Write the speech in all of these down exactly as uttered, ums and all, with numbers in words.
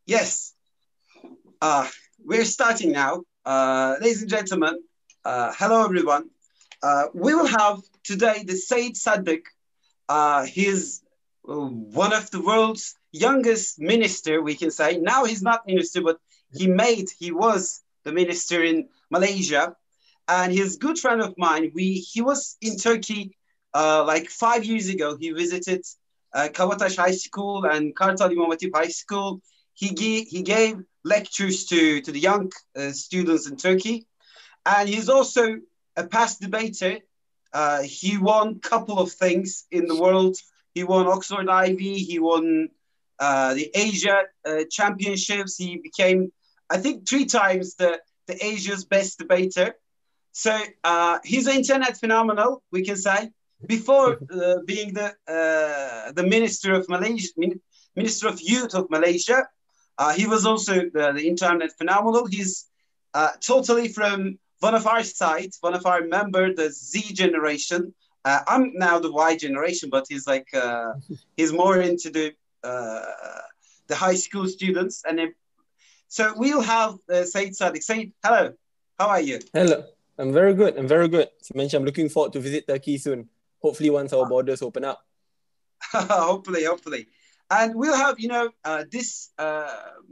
Yes, uh, we're starting now. Uh, ladies and gentlemen, uh, hello everyone. Uh, we will have today the Said Saddiq. Uh, he's uh, one of the world's youngest minister, we can say. Now he's not minister, but he made, he was the minister in Malaysia. And he's a good friend of mine. We He was in Turkey uh, like five years ago. He visited uh, Kavataş High School and Kartal İmam Hatip High School. He, gave he gave lectures to, to the young uh, students in Turkey. And he's also a past debater. Uh, he won a couple of things in the world. He won Oxford Ivy. He won uh, the Asia uh, Championships. He became, I think, three times the, the Asia's best debater. So uh, he's an internet phenomenal, we can say. Before uh, being the uh, the minister of Malaysia, minister of youth of Malaysia, uh, he was also the, the internet phenomenal. He's uh, totally from one of our sides, one of our member, the Z generation. Uh, I'm now the Y generation, but he's like uh, he's more into the uh, the high school students. And if, so we'll have uh, Said Saddiq. Said, hello, how are you? Hello, I'm very good. I'm very good. As mentioned, I'm looking forward to visit Turkey soon. Hopefully, once our borders open up. hopefully, hopefully, and we'll have you know uh, this. Uh,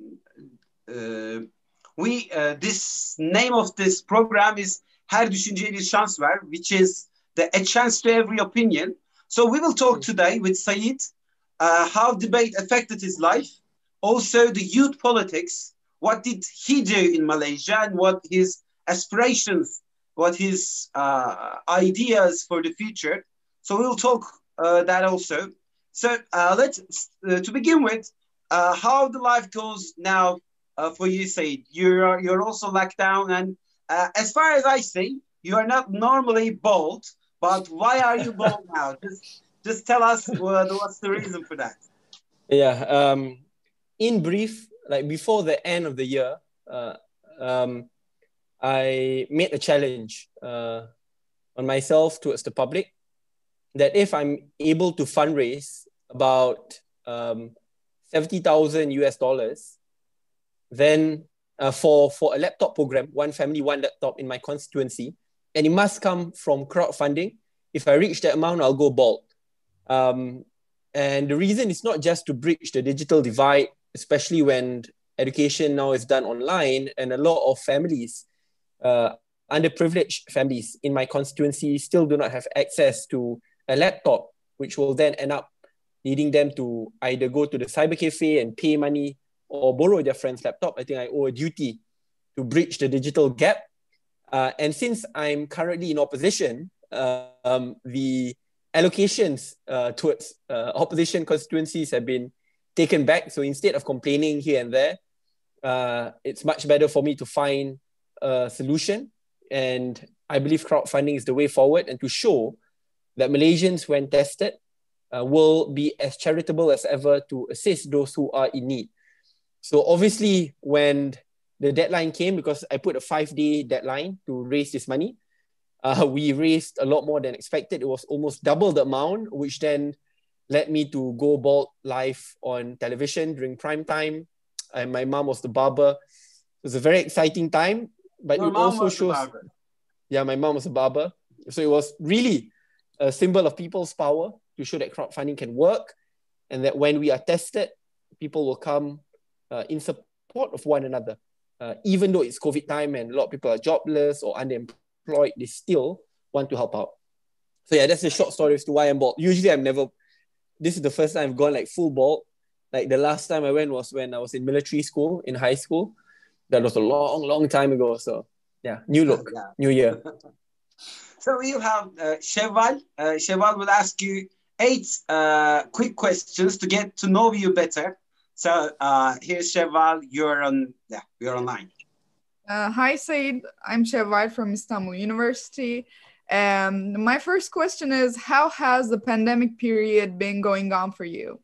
uh, We uh, this name of this program is Her Düşünceye Bir Şans Ver, which is the a chance to every opinion. So we will talk today with Said uh, how debate affected his life, also the youth politics. What did he do in Malaysia, and what his aspirations, what his uh, ideas for the future. So we'll talk uh, that also. So uh, let's uh, to begin with, uh, how the life goes now. Uh, for you, Said, you're you're also locked down, and uh, as far as I see, you are not normally bald. But why are you bald now? Just just tell us what, what's the reason for that. Yeah. Um. In brief, like before the end of the year, uh, um, I made a challenge uh, on myself towards the public that if I'm able to fundraise about um seventy thousand U S dollars. Then uh, for, for a laptop program, one family, one laptop in my constituency, and it must come from crowdfunding. If I reach that amount, I'll go bald. Um, and the reason is not just to bridge the digital divide, especially when education now is done online, and a lot of families, uh, underprivileged families in my constituency still do not have access to a laptop, which will then end up leading them to either go to the cyber cafe and pay money or borrow their friend's laptop. I think I owe a duty to bridge the digital gap. Uh, and since I'm currently in opposition, uh, um, the allocations uh, towards uh, opposition constituencies have been taken back. So instead of complaining here and there, uh, it's much better for me to find a solution. And I believe crowdfunding is the way forward, and to show that Malaysians, when tested, uh, will be as charitable as ever to assist those who are in need. So obviously, when the deadline came, because I put a five-day deadline to raise this money, uh, we raised a lot more than expected. It was almost double the amount, which then led me to go bald live on television during prime time. And my mom was the barber. It was a very exciting time, but Your it mom also was the shows... barber. Yeah, my mom was a barber. So it was really a symbol of people's power to show that crowdfunding can work, and that when we are tested, people will come Uh, in support of one another. Uh, even though it's COVID time and a lot of people are jobless or unemployed, they still want to help out. So yeah, that's the short story as to why I'm bald. Usually I'm never, this is the first time I've gone like full bald. Like the last time I went was when I was in military school, in high school. That was a long, long time ago. So yeah, new look, Yeah. new year. So we'll have uh, Shevval. Uh, Shevval will ask you eight uh, quick questions to get to know you better. So uh, here's Shevval. You're on. Yeah, you're online. Uh, hi, Said. I'm Shevval from Istanbul University. Um, my first question is, how has the pandemic period been going on for you?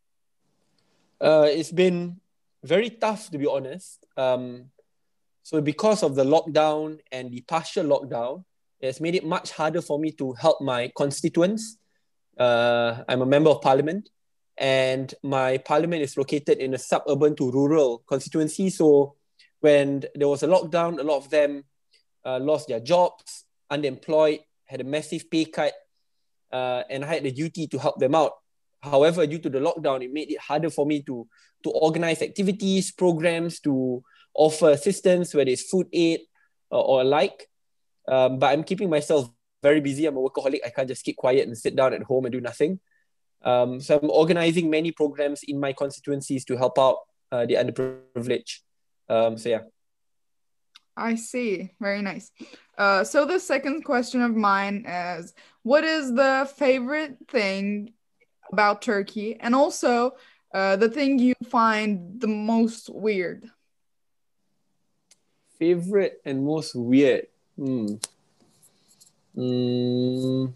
Uh, it's been very tough, to be honest. Um, so because of the lockdown and the partial lockdown, it's made it much harder for me to help my constituents. Uh, I'm a member of parliament. and my parliament is located in a suburban to rural constituency. So when there was a lockdown, a lot of them uh, lost their jobs, unemployed, had a massive pay cut, uh, and I had the duty to help them out. However, due to the lockdown, it made it harder for me to, to organize activities, programs, to offer assistance, whether it's food aid uh, or alike. Um, but I'm keeping myself very busy. I'm a workaholic. I can't just keep quiet and sit down at home and do nothing. Um, so I'm organizing many programs in my constituencies to help out uh, the underprivileged. Um, so yeah. I see. Very nice. Uh, so the second question of mine is, what is the favorite thing about Turkey, and also uh, the thing you find the most weird? Favorite and most weird? Hmm. Mm.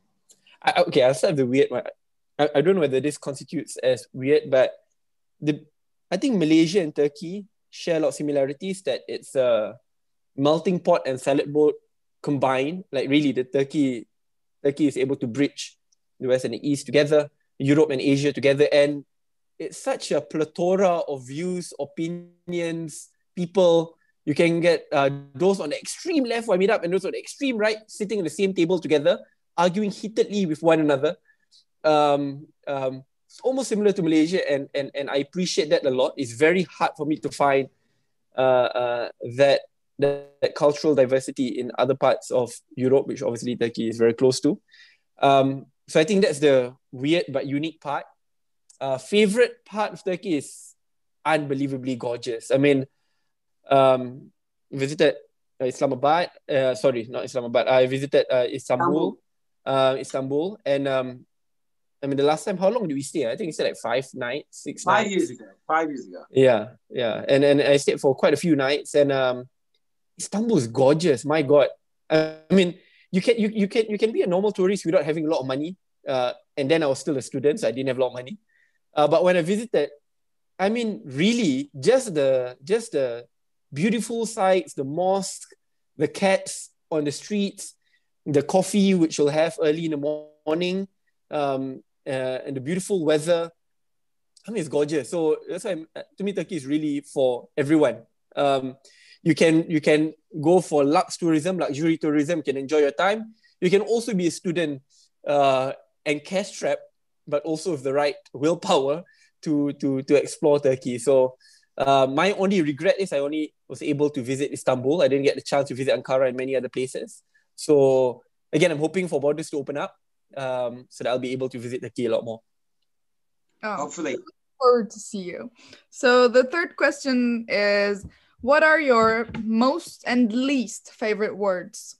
I, okay, I'll start with the weird one. I, I don't know whether this constitutes as weird, but the I think Malaysia and Turkey share a lot of similarities, that it's a melting pot and salad bowl combined. Like really, the Turkey Turkey is able to bridge the West and the East together, Europe and Asia together, and it's such a plethora of views, opinions, people. You can get uh, those on the extreme left who I meet up and those on the extreme right sitting at the same table together, arguing heatedly with one another. Um, um, it's almost similar to Malaysia, and, and, and I appreciate that a lot. It's very hard for me to find uh, uh, that, that, that cultural diversity in other parts of Europe, which obviously Turkey is very close to. Um, so I think that's the weird but unique part. Uh, favorite part of Turkey is unbelievably gorgeous. I mean, um, visited uh, Islamabad. Uh, sorry, not Islamabad. I visited uh, Istanbul. Uh, Istanbul, and um, I mean, the last time, how long did we stay? I think we stayed like five nights, six Five nights. years ago. Five years ago. Yeah, yeah, and and I stayed for quite a few nights, and um, Istanbul is gorgeous. My God, I mean, you can you you can you can be a normal tourist without having a lot of money. Uh, and then I was still a student, so I didn't have a lot of money. Uh, but when I visited, I mean, really, just the just the beautiful sights, the mosque, the cats on the streets, the coffee which you'll have early in the morning, um, uh, and the beautiful weather. I mean, it's gorgeous. So that's why I'm, to me, Turkey is really for everyone. Um, you can you can go for lux tourism, luxury tourism. You can enjoy your time. You can also be a student uh, and cash strapped, but also with the right willpower to to to explore Turkey. So uh, my only regret is I only was able to visit Istanbul. I didn't get the chance to visit Ankara and many other places. So again, I'm hoping for borders to open up um, so that I'll be able to visit Turkey a lot more. Oh, Hopefully. look forward to see you. So the third question is, what are your most and least favorite words?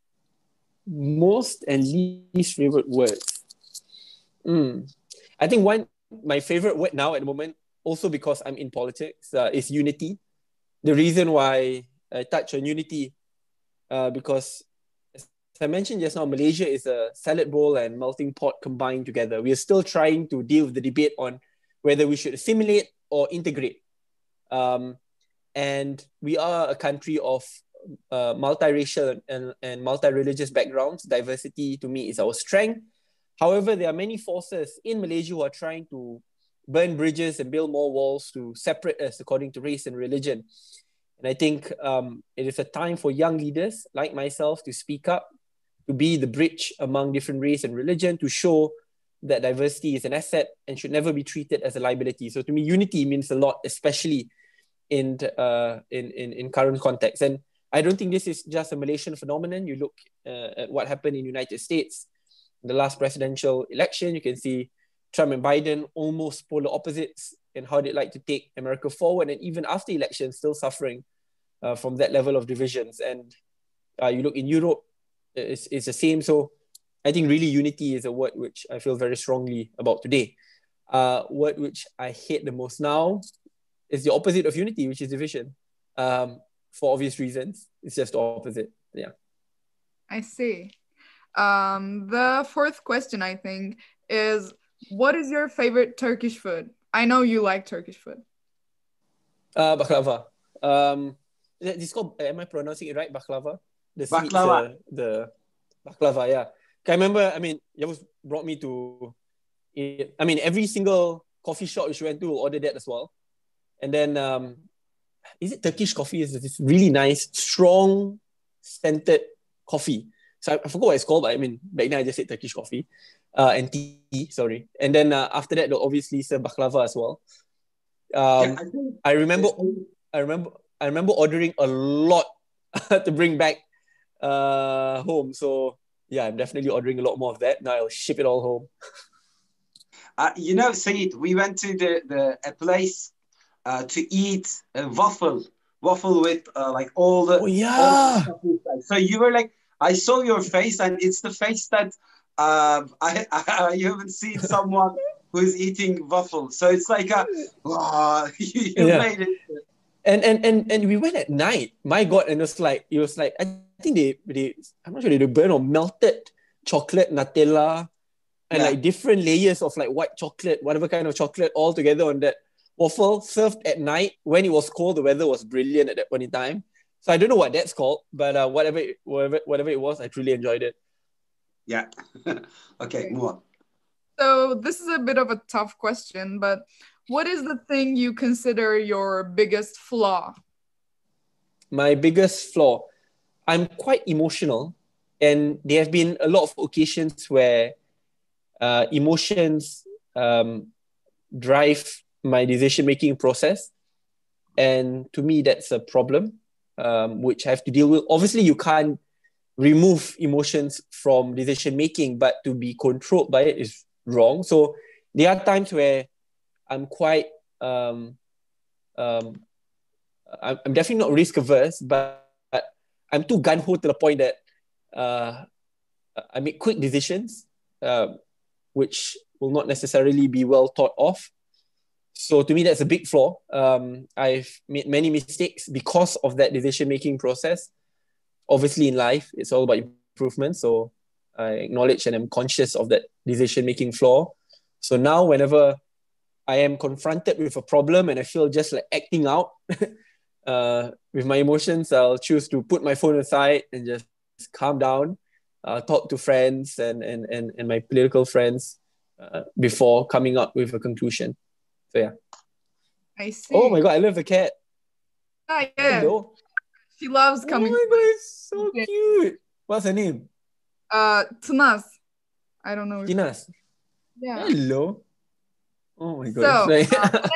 Most and least favorite words. Mm. I think one, my favorite word now at the moment, also because I'm in politics, uh, is unity. The reason why I touch on unity, uh, because as I mentioned just now, Malaysia is a salad bowl and melting pot combined together. We are still trying to deal with the debate on whether we should assimilate or integrate. Um, and we are a country of uh, multiracial and, and multi-religious backgrounds. Diversity, to me, is our strength. However, there are many forces in Malaysia who are trying to burn bridges and build more walls to separate us according to race and religion. And I think um, it is a time for young leaders like myself to speak up, to be the bridge among different race and religion, to show that diversity is an asset and should never be treated as a liability. So to me, unity means a lot, especially in, uh, in, in, in current context. And I don't think this is just a Malaysian phenomenon. You look uh, at what happened in the United States, in the last presidential election, you can see Trump and Biden almost polar opposites in how they'd like to take America forward. And even after elections, still suffering uh, from that level of divisions. And uh, you look in Europe, it's, it's the same. So I think really unity is a word which I feel very strongly about today. Uh, word which I hate the most now is the opposite of unity, which is division. Um, for obvious reasons, it's just the opposite. Yeah. I see. Um, the fourth question, I think, is what is your favorite Turkish food? I know you like Turkish food. Uh, baklava. Um, this called, am I pronouncing it right? Baklava? The sweets, Baklava. uh, the baklava, yeah. I remember, I mean, Yavuz brought me to it, I mean, every single coffee shop which we went to will order that as well. And then, um, is it Turkish coffee? It's this really nice, strong, scented coffee. So I, I forgot what it's called, but I mean, back then I just said Turkish coffee. Uh, and tea, sorry. And then uh, after that, they'll obviously serve baklava as well. Um, Yeah, I think I remember, it's- I remember, I remember ordering a lot to bring back uh, home. So yeah, I'm definitely ordering a lot more of that. Now I'll ship it all home. uh, you know, Said, we went to the, the a place uh, to eat a waffle, waffle with uh, like all the Oh all the yeah, stuff inside. So you were like, I saw your face, and it's the face that uh, I, I you haven't seen someone who's eating waffle. So it's like a wow, you, you yeah. made it. And and and and we went at night. My God, and it was like it was like I think they they I'm not sure they burn or melted chocolate, Nutella, and Yeah. like different layers of like white chocolate, whatever kind of chocolate, all together on that waffle served at night when it was cold. The weather was brilliant at that point in time. So I don't know what that's called, but uh, whatever, it- whatever, whatever it was, I truly enjoyed it. Yeah. Okay, move on. So this is a bit of a tough question, but what is the thing you consider your biggest flaw? My biggest flaw, I'm quite emotional, and there have been a lot of occasions where uh, emotions um, drive my decision making process, and to me, that's a problem, um, which I have to deal with. Obviously, you can't remove emotions from decision making, but to be controlled by it is wrong. So there are times where I'm quite um, um, I'm, I'm definitely not risk averse, but, but I'm too gun ho to the point that uh, I make quick decisions, uh, which will not necessarily be well thought of. So to me, that's a big flaw. Um, I've made many mistakes because of that decision making process. Obviously, in life, it's all about improvement. So I acknowledge and I'm conscious of that decision making flaw. So now, whenever I am confronted with a problem and I feel just like acting out uh, with my emotions, I'll choose to put my phone aside and just calm down, uh, talk to friends and, and, and, and my political friends uh, before coming up with a conclusion. So yeah. I see. Oh my God, I love the cat. Ah, yeah. Hello. She loves Oh coming. my God, it's so Okay. cute. What's her name? Uh, Tnas. I don't know. If Tinas. yeah. Hello. Oh my So, God. uh,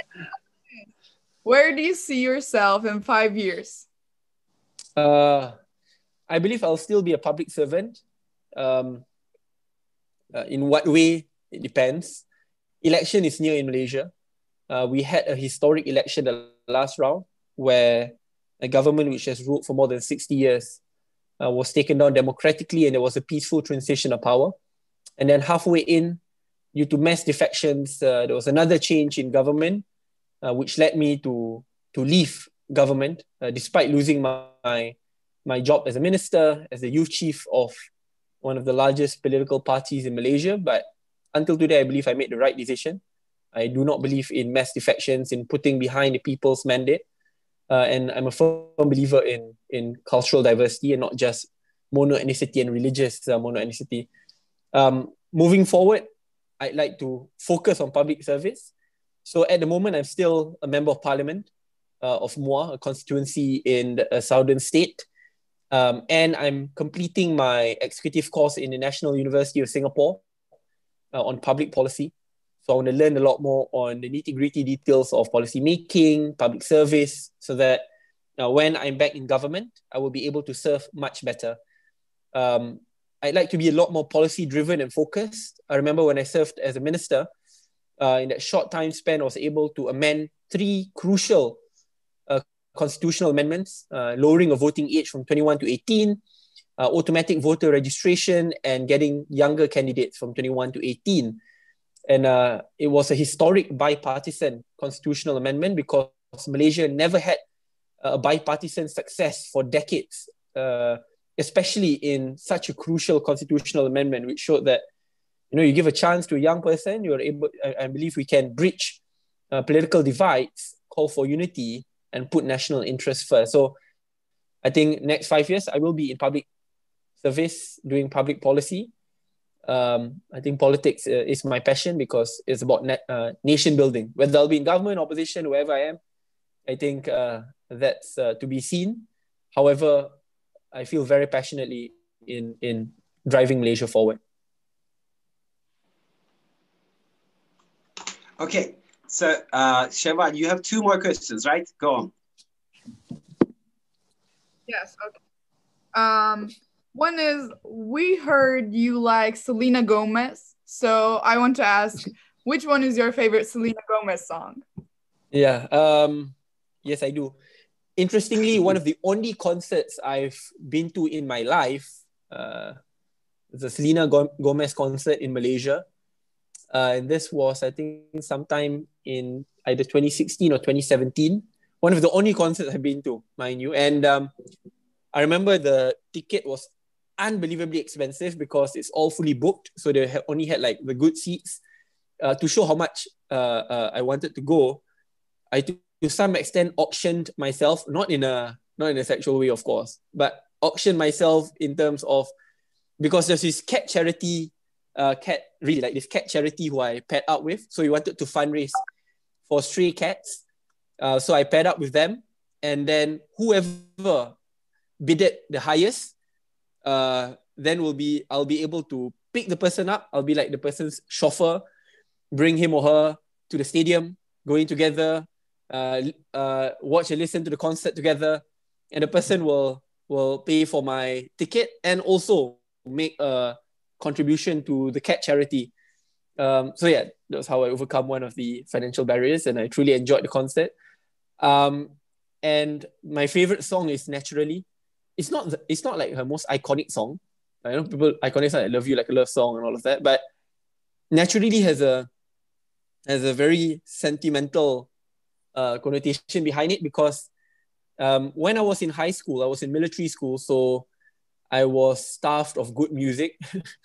where do you see yourself in five years? uh, I believe I'll still be a public servant. Um, uh, in what way? It depends. Election is near in Malaysia. Uh, we had a historic election the last round where a government which has ruled for more than sixty years uh, was taken down democratically, and there was a peaceful transition of power. And then halfway in, due to mass defections, uh, there was another change in government, uh, which led me to, to leave government, uh, despite losing my, my, my job as a minister, as the youth chief of one of the largest political parties in Malaysia. But until today, I believe I made the right decision. I do not believe in mass defections, in putting behind the people's mandate. Uh, and I'm a firm believer in, in cultural diversity and not just mono-ethnicity and religious uh, mono-ethnicity. Um, moving forward, I'd like to focus on public service. So at the moment, I'm still a member of parliament uh, of Muar, a constituency in the, a southern state. Um, and I'm completing my executive course in the National University of Singapore uh, on public policy. So I want to learn a lot more on the nitty-gritty details of policy making, public service, so that uh, when I'm back in government, I will be able to serve much better. Um, I'd like to be a lot more policy-driven and focused. I remember when I served as a minister, uh, in that short time span, I was able to amend three crucial uh, constitutional amendments, uh, lowering a voting age from twenty-one to eighteen, uh, automatic voter registration, and getting younger candidates from twenty-one to eighteen. And uh, it was a historic bipartisan constitutional amendment because Malaysia never had a bipartisan success for decades, uh, especially in such a crucial constitutional amendment, which showed that, you know, you give a chance to a young person, you're able, I, I believe we can bridge uh, political divides, call for unity, and put national interest first. So I think next five years, I will be in public service, doing public policy. um, I think politics uh, is my passion because it's about na- uh, nation building. Whether I'll be in government, opposition, wherever I am, I think uh, that's uh, to be seen. However, I feel very passionately in in driving Malaysia forward. Okay, so uh, Shehbaz, you have two more questions, right? Go on. Yes. Okay. Um, one is we heard you like Selena Gomez, so I want to ask, which one is your favorite Selena Gomez song? Yeah. Um, yes, I do. Interestingly, one of the only concerts I've been to in my life, uh, the Selena Gomez concert in Malaysia. Uh, and this was, I think, sometime in either twenty sixteen or twenty seventeen. One of the only concerts I've been to, mind you. And um, I remember the ticket was unbelievably expensive because it's all fully booked. So they only had like the good seats. Uh, to show how much uh, uh, I wanted to go, I to, to some extent auctioned myself, not in a not in a sexual way, of course, but auctioned myself in terms of, because there's this cat charity, uh, cat really like this cat charity who I paired up with. So we wanted to fundraise for stray cats. Uh, so I paired up with them, and then whoever bidded the highest, uh, then will be I'll be able to pick the person up. I'll be like the person's chauffeur, bring him or her to the stadium, going together, uh, uh, watch and listen to the concert together, and the person will will pay for my ticket and also make a contribution to the cat charity. Um, so yeah, that's how I overcome one of the financial barriers, and I truly enjoyed the concert. Um, and my favorite song is Naturally. It's not the, it's not like her most iconic song. I know people iconic songs like Love You Like a Love Song and all of that, but Naturally has a has a very sentimental uh, connotation behind it because um, when I was in high school, I was in military school, so I was starved of good music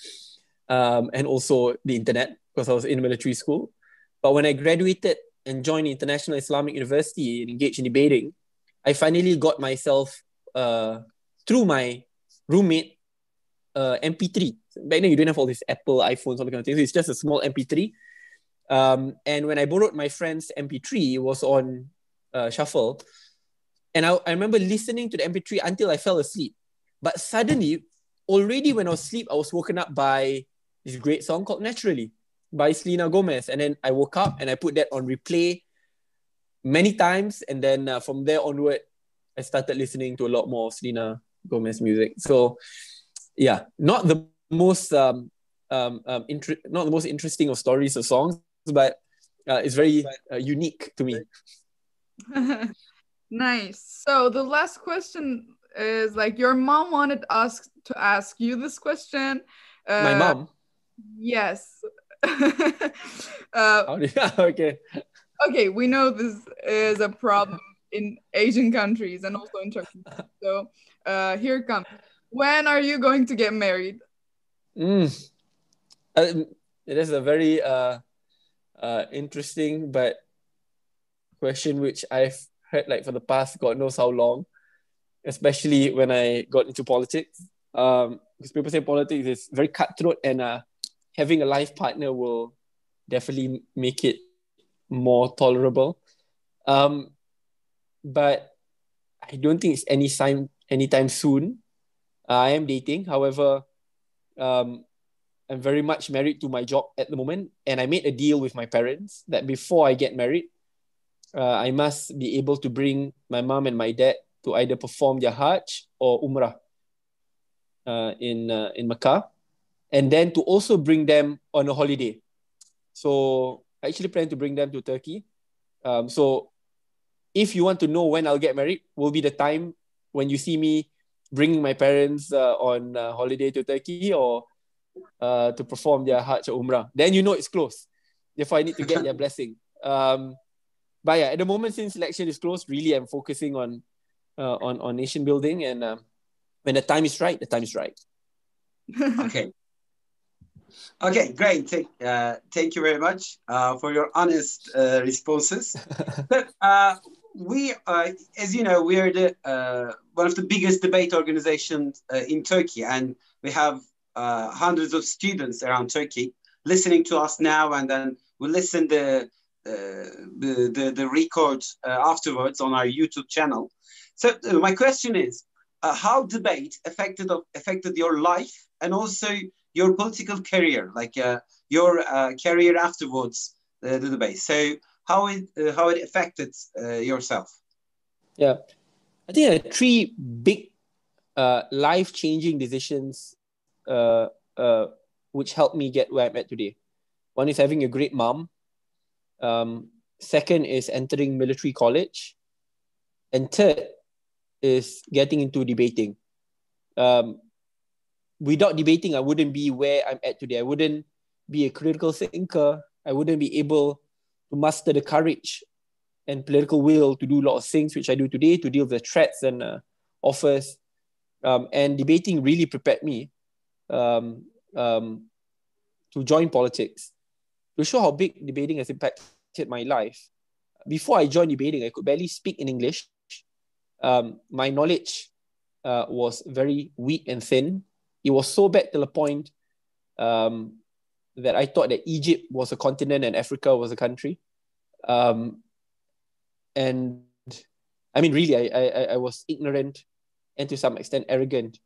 um, and also the internet because I was in military school. But when I graduated and joined the International Islamic University and engaged in debating, I finally got myself, uh, through my roommate, uh, M P three. Back then, you didn't have all these Apple, iPhones, all that kind of things. So it's just a small M P three. Um, and when I borrowed my friend's M P three, it was on uh, shuffle. And I, I remember listening to the M P three until I fell asleep. But suddenly, already when I was asleep, I was woken up by this great song called Naturally by Selena Gomez. And then I woke up and I put that on replay many times. And then uh, from there onward, I started listening to a lot more Selena Gomez music. So yeah, not the most um, um, um, inter- not the most interesting of stories or songs, but uh, it's very uh, unique to me. Nice. So the last question is like, your mom wanted us to ask you this question. Uh, My mom? Yes. uh, okay. Okay, we know this is a problem in Asian countries and also in Turkey. So uh, here it comes. When are you going to get married? Mm. Uh, it is a very uh, uh, interesting but question which I've heard like for the past God knows how long, especially when I got into politics. Um, because people say politics is very cutthroat, and uh, having a life partner will definitely make it more tolerable. Um, but I don't think it's any time anytime soon. Uh, I am dating, however, um, I'm very much married to my job at the moment, and I made a deal with my parents that before I get married, uh, I must be able to bring my mom and my dad to either perform their Hajj or Umrah uh, in uh, in Mecca, and then to also bring them on a holiday. So I actually plan to bring them to Turkey. Um, so if you want to know when I'll get married, will be the time when you see me bringing my parents uh, on uh, holiday to Turkey or uh, to perform their Hajj or Umrah. Then you know it's close. Therefore, I need to get their blessing. Um, but yeah, at the moment, since election is close, really I'm focusing on uh, on, on nation building. And um, when the time is right, the time is right. Okay. Okay, great. Thank, uh, thank you very much uh, for your honest uh, responses. But uh, we, uh, as you know, we are the uh, one of the biggest debate organizations uh, in Turkey, and we have uh, hundreds of students around Turkey listening to us now, and then we'll listen the uh, the, the the record uh, afterwards on our YouTube channel. So uh, my question is, uh, how debate affected of, affected your life and also your political career, like uh, your uh, career afterwards uh, the debate. So how it uh, how it affected uh, yourself? Yeah, I think there are three big uh, life-changing decisions uh, uh, which helped me get where I'm at today. One is having a great mom. Um, second is entering military college. And third is getting into debating. Um, without debating, I wouldn't be where I'm at today. I wouldn't be a critical thinker. I wouldn't be able to muster the courage and political will to do a lot of things which I do today, to deal with the threats and uh, offers. Um, and debating really prepared me um, um, to join politics. To show how big debating has impacted my life, before I joined debating, I could barely speak in English. Um, my knowledge uh, was very weak and thin. It was so bad to the point um, that I thought that Egypt was a continent and Africa was a country. Um, and I mean, really, I, I, I was ignorant and to some extent arrogant.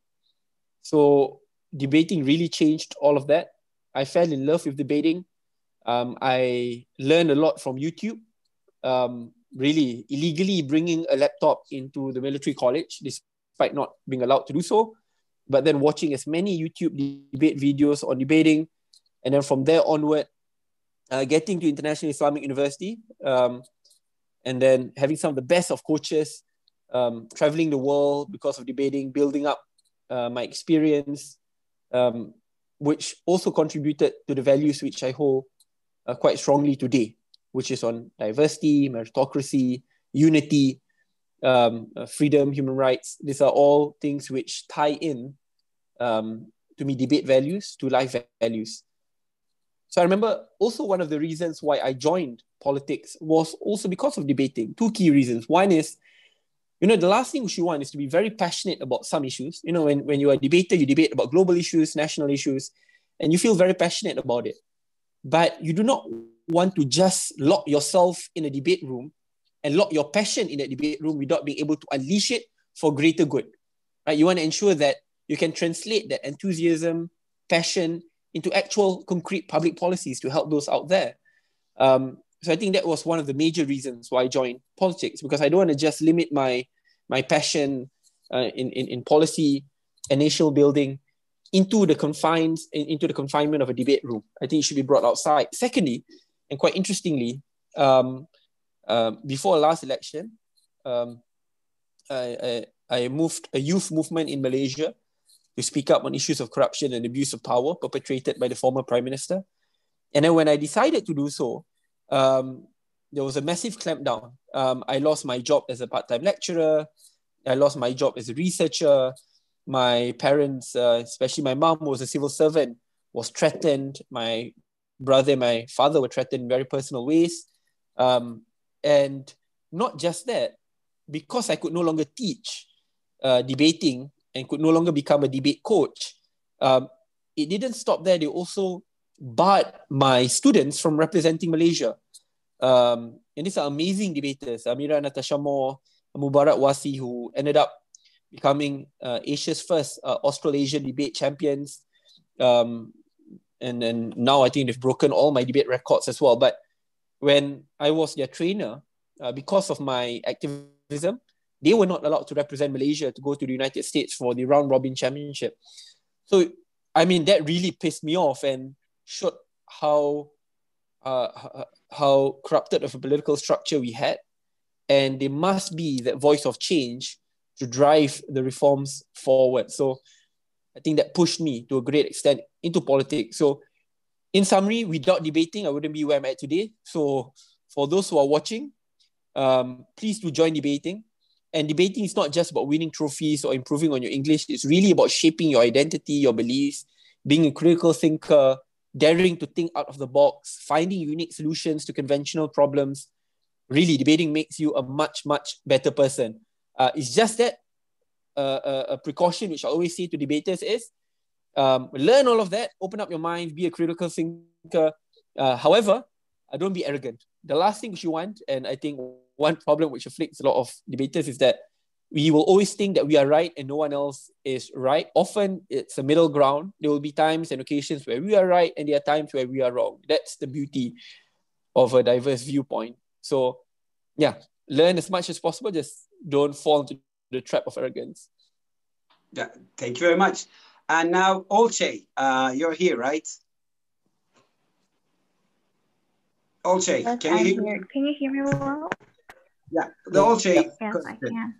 So debating really changed all of that. I fell in love with debating. Um, I learned a lot from YouTube. Um, really illegally bringing a laptop into the military college, despite not being allowed to do so, but then watching as many YouTube debate videos on debating, and then from there onward, uh, getting to International Islamic University, um, and then having some of the best of coaches, um, traveling the world because of debating, building up uh, my experience, um, which also contributed to the values which I hold uh, quite strongly today, which is on diversity, meritocracy, unity, um, uh, freedom, human rights. These are all things which tie in, um, to me, debate values to life values. So I remember also one of the reasons why I joined politics was also because of debating. Two key reasons. One is, you know, the last thing you want is to be very passionate about some issues. You know, when, when you are a debater, you debate about global issues, national issues, and you feel very passionate about it. But you do not want to just lock yourself in a debate room and lock your passion in that debate room without being able to unleash it for greater good. Right? You want to ensure that you can translate that enthusiasm, passion into actual concrete public policies to help those out there. Um, so I think that was one of the major reasons why I joined politics, because I don't want to just limit my, my passion uh, in, in, in policy and nation building into the confines, into the confinement of a debate room. I think it should be brought outside. Secondly, and quite interestingly, um, uh, before last election, um, I, I, I moved a youth movement in Malaysia to speak up on issues of corruption and abuse of power perpetrated by the former Prime Minister. And then when I decided to do so, um, there was a massive clampdown. Um, I lost my job as a part-time lecturer. I lost my job as a researcher. My parents, uh, especially my mom, was a civil servant, was threatened. My brother and my father were threatened in very personal ways. Um, and not just that, because I could no longer teach uh, debating and could no longer become a debate coach, um, it didn't stop there. They also barred my students from representing Malaysia. Um, and these are amazing debaters. Amira Natasha Moore, Mubarak Wasi, who ended up becoming uh, Asia's first uh, Australasian debate champions. Um, and then now I think they've broken all my debate records as well. But when I was their trainer, uh, because of my activism, they were not allowed to represent Malaysia to go to the United States for the round robin championship. So, I mean, that really pissed me off and showed how, uh, how corrupted of a political structure we had. And there must be that voice of change to drive the reforms forward. So I think that pushed me to a great extent into politics. So in summary, without debating, I wouldn't be where I'm at today. So for those who are watching, um, please do join debating. And debating is not just about winning trophies or improving on your English. It's really about shaping your identity, your beliefs, being a critical thinker, daring to think out of the box, finding unique solutions to conventional problems. Really, debating makes you a much, much better person. Uh, it's just that uh, a, a precaution which I always say to debaters is, Um, learn all of that, open up your mind, be a critical thinker. Uh, however, uh, don't be arrogant. The last thing which you want, and I think one problem which afflicts a lot of debaters is that we will always think that we are right and no one else is right. Often it's a middle ground. There will be times and occasions where we are right and there are times where we are wrong. That's the beauty of a diverse viewpoint. So yeah, learn as much as possible. Just don't fall into the trap of arrogance. Yeah, thank you very much. And now, Olche, uh, you're here, right? Olche, Yes, can you I'm hear here. me? Can you hear me well? Yeah, the Olche. Yes, I can.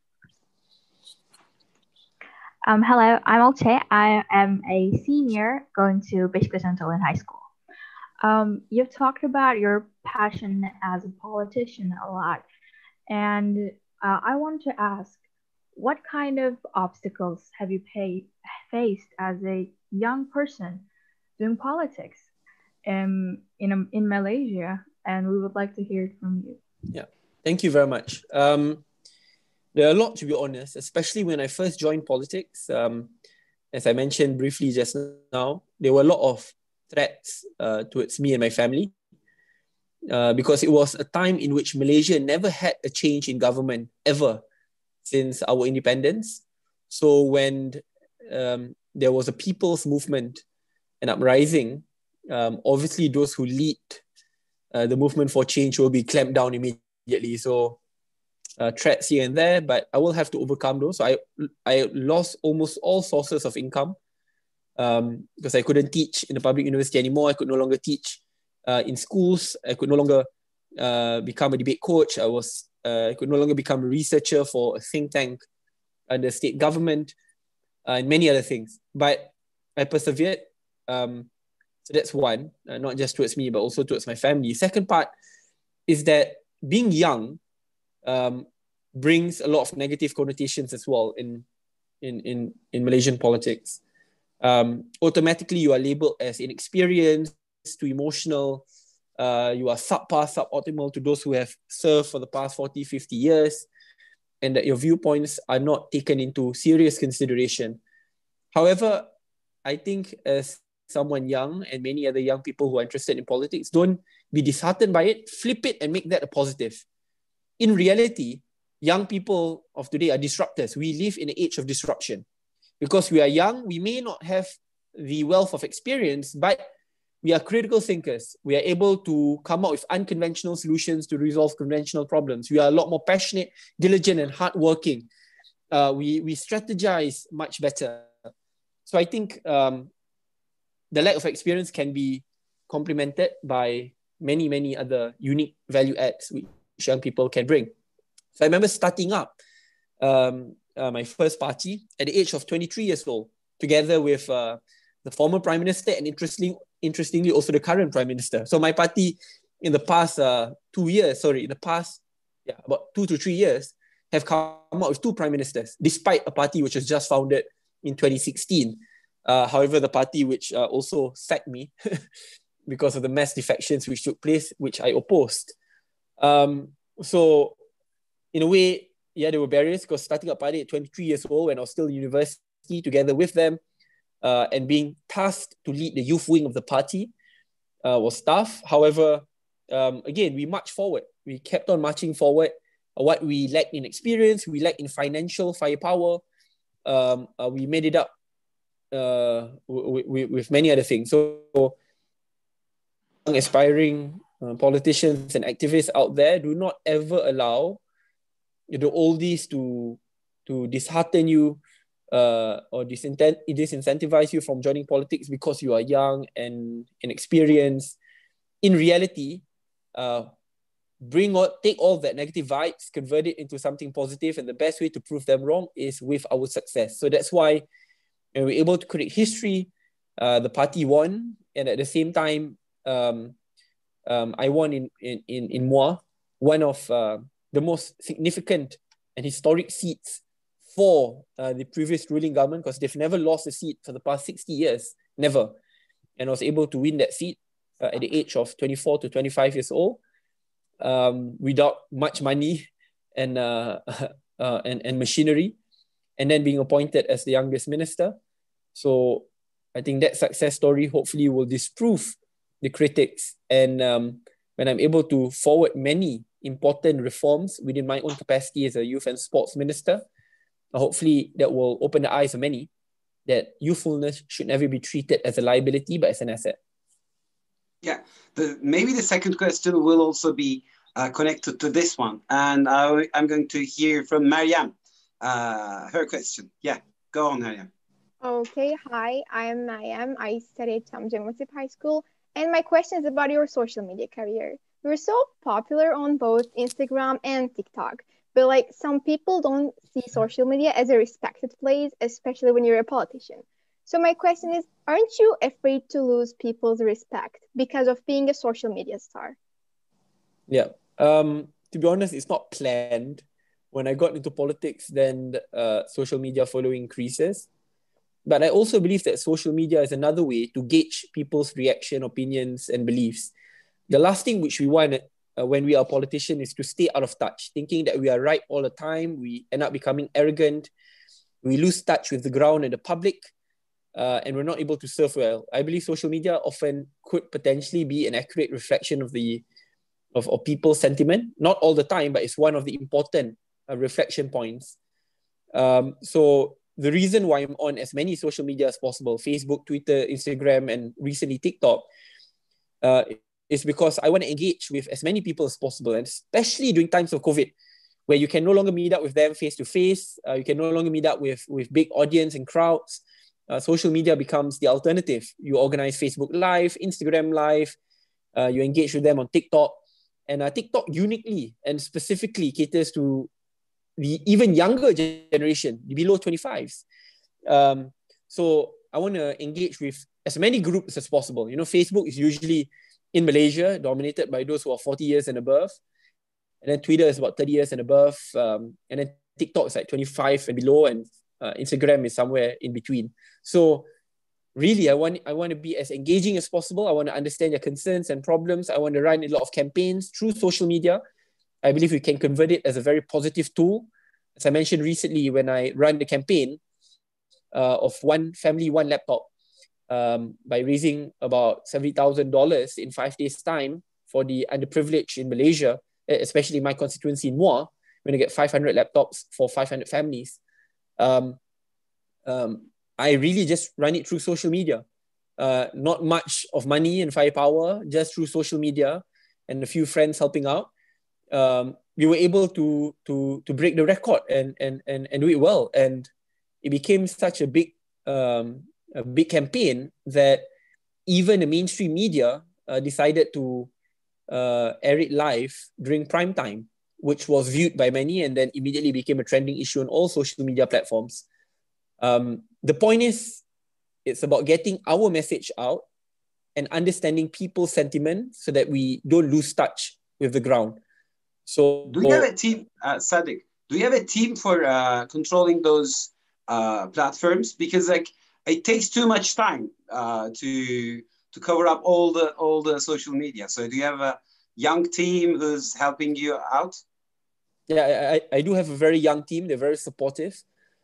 Um, hello, I'm Olche. I am a senior going to Bishop Antolin High School. Um, you've talked about your passion as a politician a lot, and uh, I want to ask, what kind of obstacles have you pay, faced as a young person doing politics um, in, in Malaysia? And we would like to hear it from you. Yeah, thank you very much. Um, there are a lot, to be honest, especially when I first joined politics. Um, as I mentioned briefly just now, there were a lot of threats uh, towards me and my family uh, because it was a time in which Malaysia never had a change in government ever since our independence. So when um, there was a people's movement, an uprising, um, obviously those who lead uh, the movement for change will be clamped down immediately. So uh, threats here and there, but I will have to overcome those. So I, I lost almost all sources of income um, because I couldn't teach in the public university anymore. I could no longer teach uh, in schools. I could no longer uh, become a debate coach. I was uh, I could no longer become a researcher for a think tank under state government uh, and many other things. But I persevered. Um, so that's one, uh, not just towards me, but also towards my family. Second part is that being young um, brings a lot of negative connotations as well in, in, in, in Malaysian politics. Um, automatically, you are labeled as inexperienced, too emotional, uh, you are subpar, suboptimal to those who have served for the past forty, fifty years, and that your viewpoints are not taken into serious consideration. However, I think as someone young and many other young people who are interested in politics, don't be disheartened by it, flip it and make that a positive. In reality, young people of today are disruptors. We live in an age of disruption. Because we are young, we may not have the wealth of experience, but we are critical thinkers. We are able to come up with unconventional solutions to resolve conventional problems. We are a lot more passionate, diligent, and hardworking. Uh, we, we strategize much better. So I think um, the lack of experience can be complemented by many, many other unique value adds which young people can bring. So I remember starting up um, uh, my first party at the age of twenty-three years old, together with uh, the former Prime Minister and interestingly, interestingly also the current Prime Minister. So my party in the past uh, two years, sorry, in the past yeah, about two to three years, have come up with two Prime Ministers, despite a party which was just founded in twenty sixteen. Uh, however, the party which uh, also sacked me because of the mass defections which took place, which I opposed. Um, so in a way, yeah, there were barriers because starting a party at twenty-three years old when I was still in university together with them uh, and being tasked to lead the youth wing of the party uh, was tough. However, um, again, we marched forward. We kept on marching forward. What we lacked in experience, we lacked in financial firepower. Um, uh, we made it up uh, w- w- with many other things. So, aspiring uh, politicians and activists out there, do not ever allow the oldies to to dishearten you uh, or disintent- disincentivize you from joining politics because you are young and inexperienced. In reality, uh, bring all, take all that negative vibes, convert it into something positive, and the best way to prove them wrong is with our success. So that's why when we're able to create history, uh, the party won, and at the same time, um, um, I won in in in, in Muar, one of uh, the most significant and historic seats for uh, the previous ruling government, because they've never lost a seat for the past sixty years, never. And I was able to win that seat uh, at the age of twenty-four to twenty-five years old, um, without much money and, uh, uh, and, and machinery, and then being appointed as the youngest minister. So I think that success story hopefully will disprove the critics. And um, when I'm able to forward many important reforms within my own capacity as a youth and sports minister, hopefully that will open the eyes of many that youthfulness should never be treated as a liability, but as an asset. Yeah, the, maybe the second question will also be uh, connected to this one. And I, I'm going to hear from Mariam, uh, her question. Yeah, go on, Mariam. Okay, hi, I'm Mariam. I studied at Jammunsip High School. And my question is about your social media career. You're so popular on both Instagram and TikTok. But like some people don't see social media as a respected place, especially when you're a politician. So my question is, aren't you afraid to lose people's respect because of being a social media star? Yeah. Um, to be honest, it's not planned. When I got into politics, then uh, social media following increases. But I also believe that social media is another way to gauge people's reaction, opinions, and beliefs. The last thing which we want uh, when we are a politician is to stay out of touch, thinking that we are right all the time. We end up becoming arrogant. We lose touch with the ground and the public, uh, and we're not able to serve well. I believe social media often could potentially be an accurate reflection of the of, of people's sentiment. Not all the time, but it's one of the important uh, reflection points. Um, so the reason why I'm on as many social media as possible, Facebook, Twitter, Instagram, and recently TikTok, uh, is because I want to engage with as many people as possible, and especially during times of COVID, where you can no longer meet up with them face to face, uh, you can no longer meet up with, with big audience and crowds. Uh, social media becomes the alternative. You organize Facebook Live, Instagram Live, uh, you engage with them on TikTok, and uh, TikTok uniquely and specifically caters to the even younger generation, the below twenty-fives. Um, so I want to engage with as many groups as possible. You know, Facebook is usually in Malaysia, dominated by those who are forty years and above. And then Twitter is about thirty years and above. Um, and then TikTok is like twenty-five and below. And uh, Instagram is somewhere in between. So really, I want, I want to be as engaging as possible. I want to understand your concerns and problems. I want to run a lot of campaigns through social media. I believe we can convert it as a very positive tool. As I mentioned recently, when I ran the campaign uh, of one family, one laptop, um, by raising about seventy thousand dollars in five days' time for the underprivileged in Malaysia, especially my constituency in Muar, we're going to get five hundred laptops for five hundred families. Um, um, I really just run it through social media. Uh, not much of money and firepower, just through social media and a few friends helping out. Um, we were able to to to break the record and and and and do it well, and it became such a big um, a big campaign that even the mainstream media uh, decided to uh, air it live during prime time, which was viewed by many and then immediately became a trending issue on all social media platforms. Um, the point is, it's about getting our message out and understanding people's sentiment so that we don't lose touch with the ground. So, do you have a team, uh, Sadiq? Do you have a team for uh, controlling those uh, platforms? Because like it takes too much time uh, to to cover up all the all the social media. So, do you have a young team who's helping you out? Yeah, I, I do have a very young team. They're very supportive.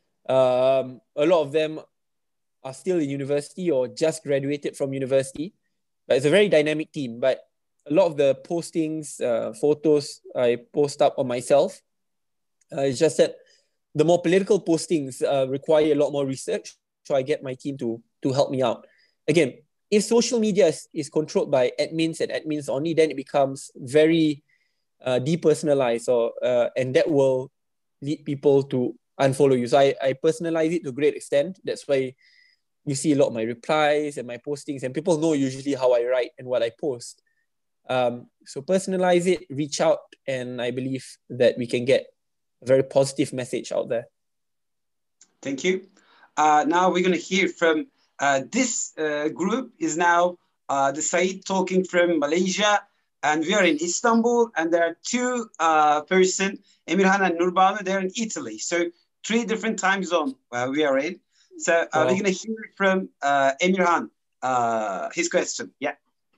Um, a lot of them are still in university or just graduated from university, but it's a very dynamic team. But a lot of the postings, uh, photos I post up on myself. Uh, it's just that the more political postings uh, require a lot more research. So I get my team to, to help me out. Again, if social media is, is controlled by admins and admins only, then it becomes very uh, depersonalized, or, uh, and that will lead people to unfollow you. So I, I personalize it to a great extent. That's why you see a lot of my replies and my postings, and people know usually how I write and what I post. Um, so personalize it, reach out, and I believe that we can get a very positive message out there. Thank you. Uh, now we're going to hear from uh, this uh, group is now uh, the Said talking from Malaysia, and we are in Istanbul, and there are two uh, person, Emirhan and Nurbanu, they're in Italy. So three different time zones uh, we are in. So uh, wow. We're going to hear from uh, Emirhan, uh, his question. Yeah.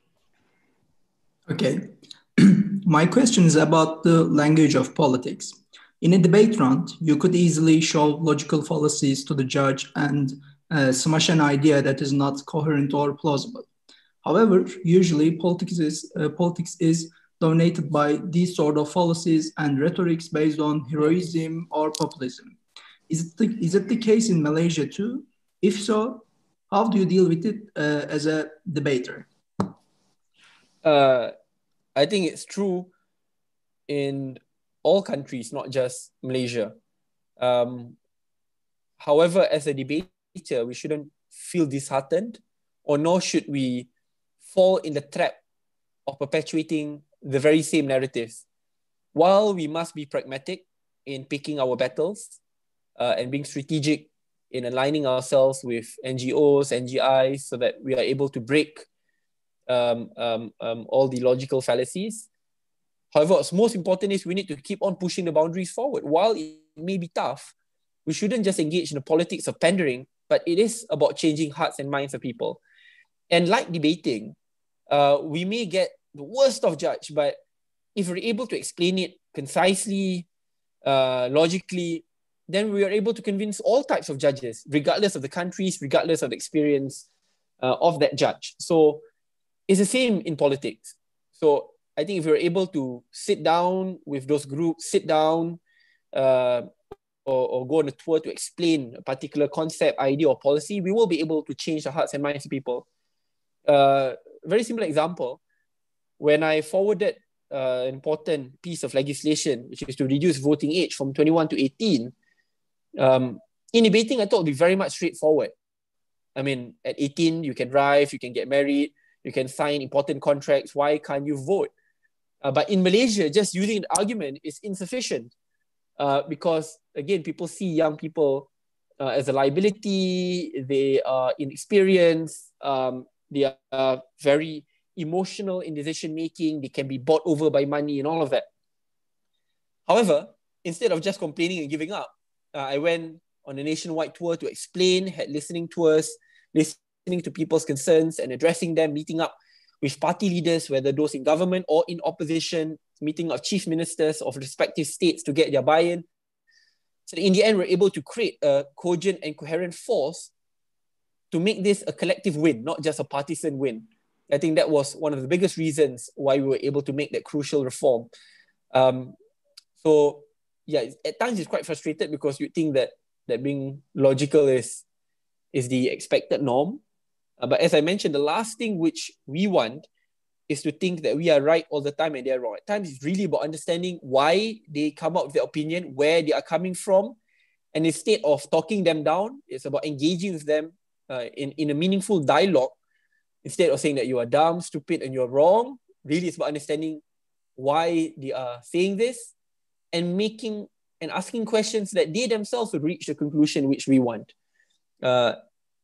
Okay. My question is about the language of politics. In a debate round, you could easily show logical fallacies to the judge and uh, smash an idea that is not coherent or plausible. However, usually politics is, uh, politics is dominated by these sort of fallacies and rhetorics based on heroism or populism. Is it the, is it the case in Malaysia too? If so, how do you deal with it uh, as a debater? Uh, I think it's true in all countries, not just Malaysia. Um, however, as a debater, we shouldn't feel disheartened, or nor should we fall in the trap of perpetuating the very same narratives. While we must be pragmatic in picking our battles uh, and being strategic in aligning ourselves with N G Os, N G Is, so that we are able to break um, um, um, all the logical fallacies. However, what's most important is we need to keep on pushing the boundaries forward. While it may be tough, we shouldn't just engage in the politics of pandering, but it is about changing hearts and minds of people. And like debating, uh, we may get the worst of judge, but if we're able to explain it concisely, uh, logically, then we are able to convince all types of judges, regardless of the countries, regardless of the experience uh, of that judge. So it's the same in politics. So I think if we're able to sit down with those groups, sit down uh, or, or go on a tour to explain a particular concept, idea, or policy, we will be able to change the hearts and minds of people. Uh, very simple example, when I forwarded uh, an important piece of legislation, which is to reduce voting age from twenty-one to eighteen, um, in debating, I thought it would be very much straightforward. I mean, at eighteen, you can drive, you can get married, you can sign important contracts. Why can't you vote? Uh, but in Malaysia, just using an argument is insufficient uh, because, again, people see young people uh, as a liability. They are inexperienced. Um, they are very emotional in decision making. They can be bought over by money and all of that. However, instead of just complaining and giving up, uh, I went on a nationwide tour to explain, had listening tours, listening to people's concerns and addressing them, meeting up with party leaders, whether those in government or in opposition, meeting of chief ministers of respective states to get their buy-in. So in the end, we're able to create a cogent and coherent force to make this a collective win, not just a partisan win. I think that was one of the biggest reasons why we were able to make that crucial reform. Um, so yeah, at times it's quite frustrated because you think that, that being logical is, is the expected norm. Uh, but as I mentioned, the last thing which we want is to think that we are right all the time and they're wrong. At times it's really about understanding why they come up with their opinion, where they are coming from. And instead of talking them down, it's about engaging with them uh, in, in a meaningful dialogue. Instead of saying that you are dumb, stupid, and you're wrong, really it's about understanding why they are saying this and making and asking questions that they themselves would reach the conclusion which we want. Uh,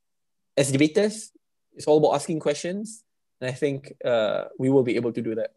as debaters, it's all about asking questions, and I think uh, we will be able to do that.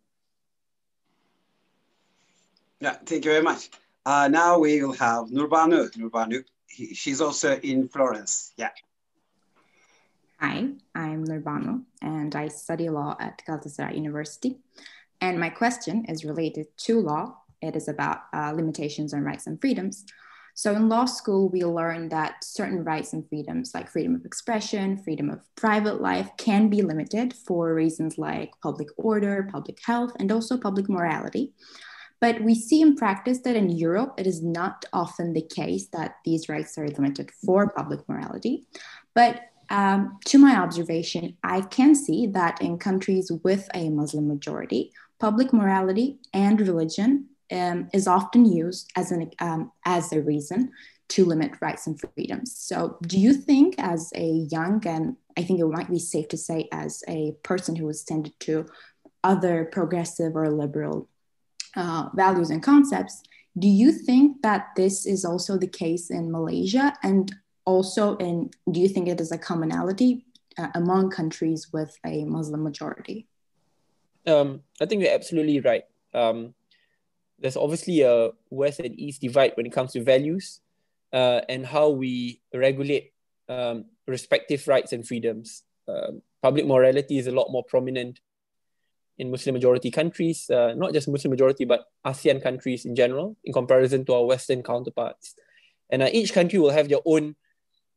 Yeah, thank you very much. Uh, now we will have Nurbanu. Nurbanu, he, she's also in Florence. Yeah. Hi, I'm Nurbanu, and I study law at Galatasaray University. And my question is related to law. It is about uh, limitations on rights and freedoms. So in law school, we learn that certain rights and freedoms, like freedom of expression, freedom of private life, can be limited for reasons like public order, public health, and also public morality. But we see in practice that in Europe, it is not often the case that these rights are limited for public morality. But Um, to my observation, I can see that in countries with a Muslim majority, public morality and religion um, is often used as, an, um, as a reason to limit rights and freedoms. So do you think as a young, and I think it might be safe to say as a person who is tended to other progressive or liberal uh, values and concepts, do you think that this is also the case in Malaysia? And also, in, do you think it is a commonality uh, among countries with a Muslim majority? Um, I think you're absolutely right. Um, there's obviously a West and East divide when it comes to values uh, and how we regulate um, respective rights and freedoms. Um, public morality is a lot more prominent in Muslim majority countries, uh, not just Muslim majority, but ASEAN countries in general, in comparison to our Western counterparts. And uh, each country will have their own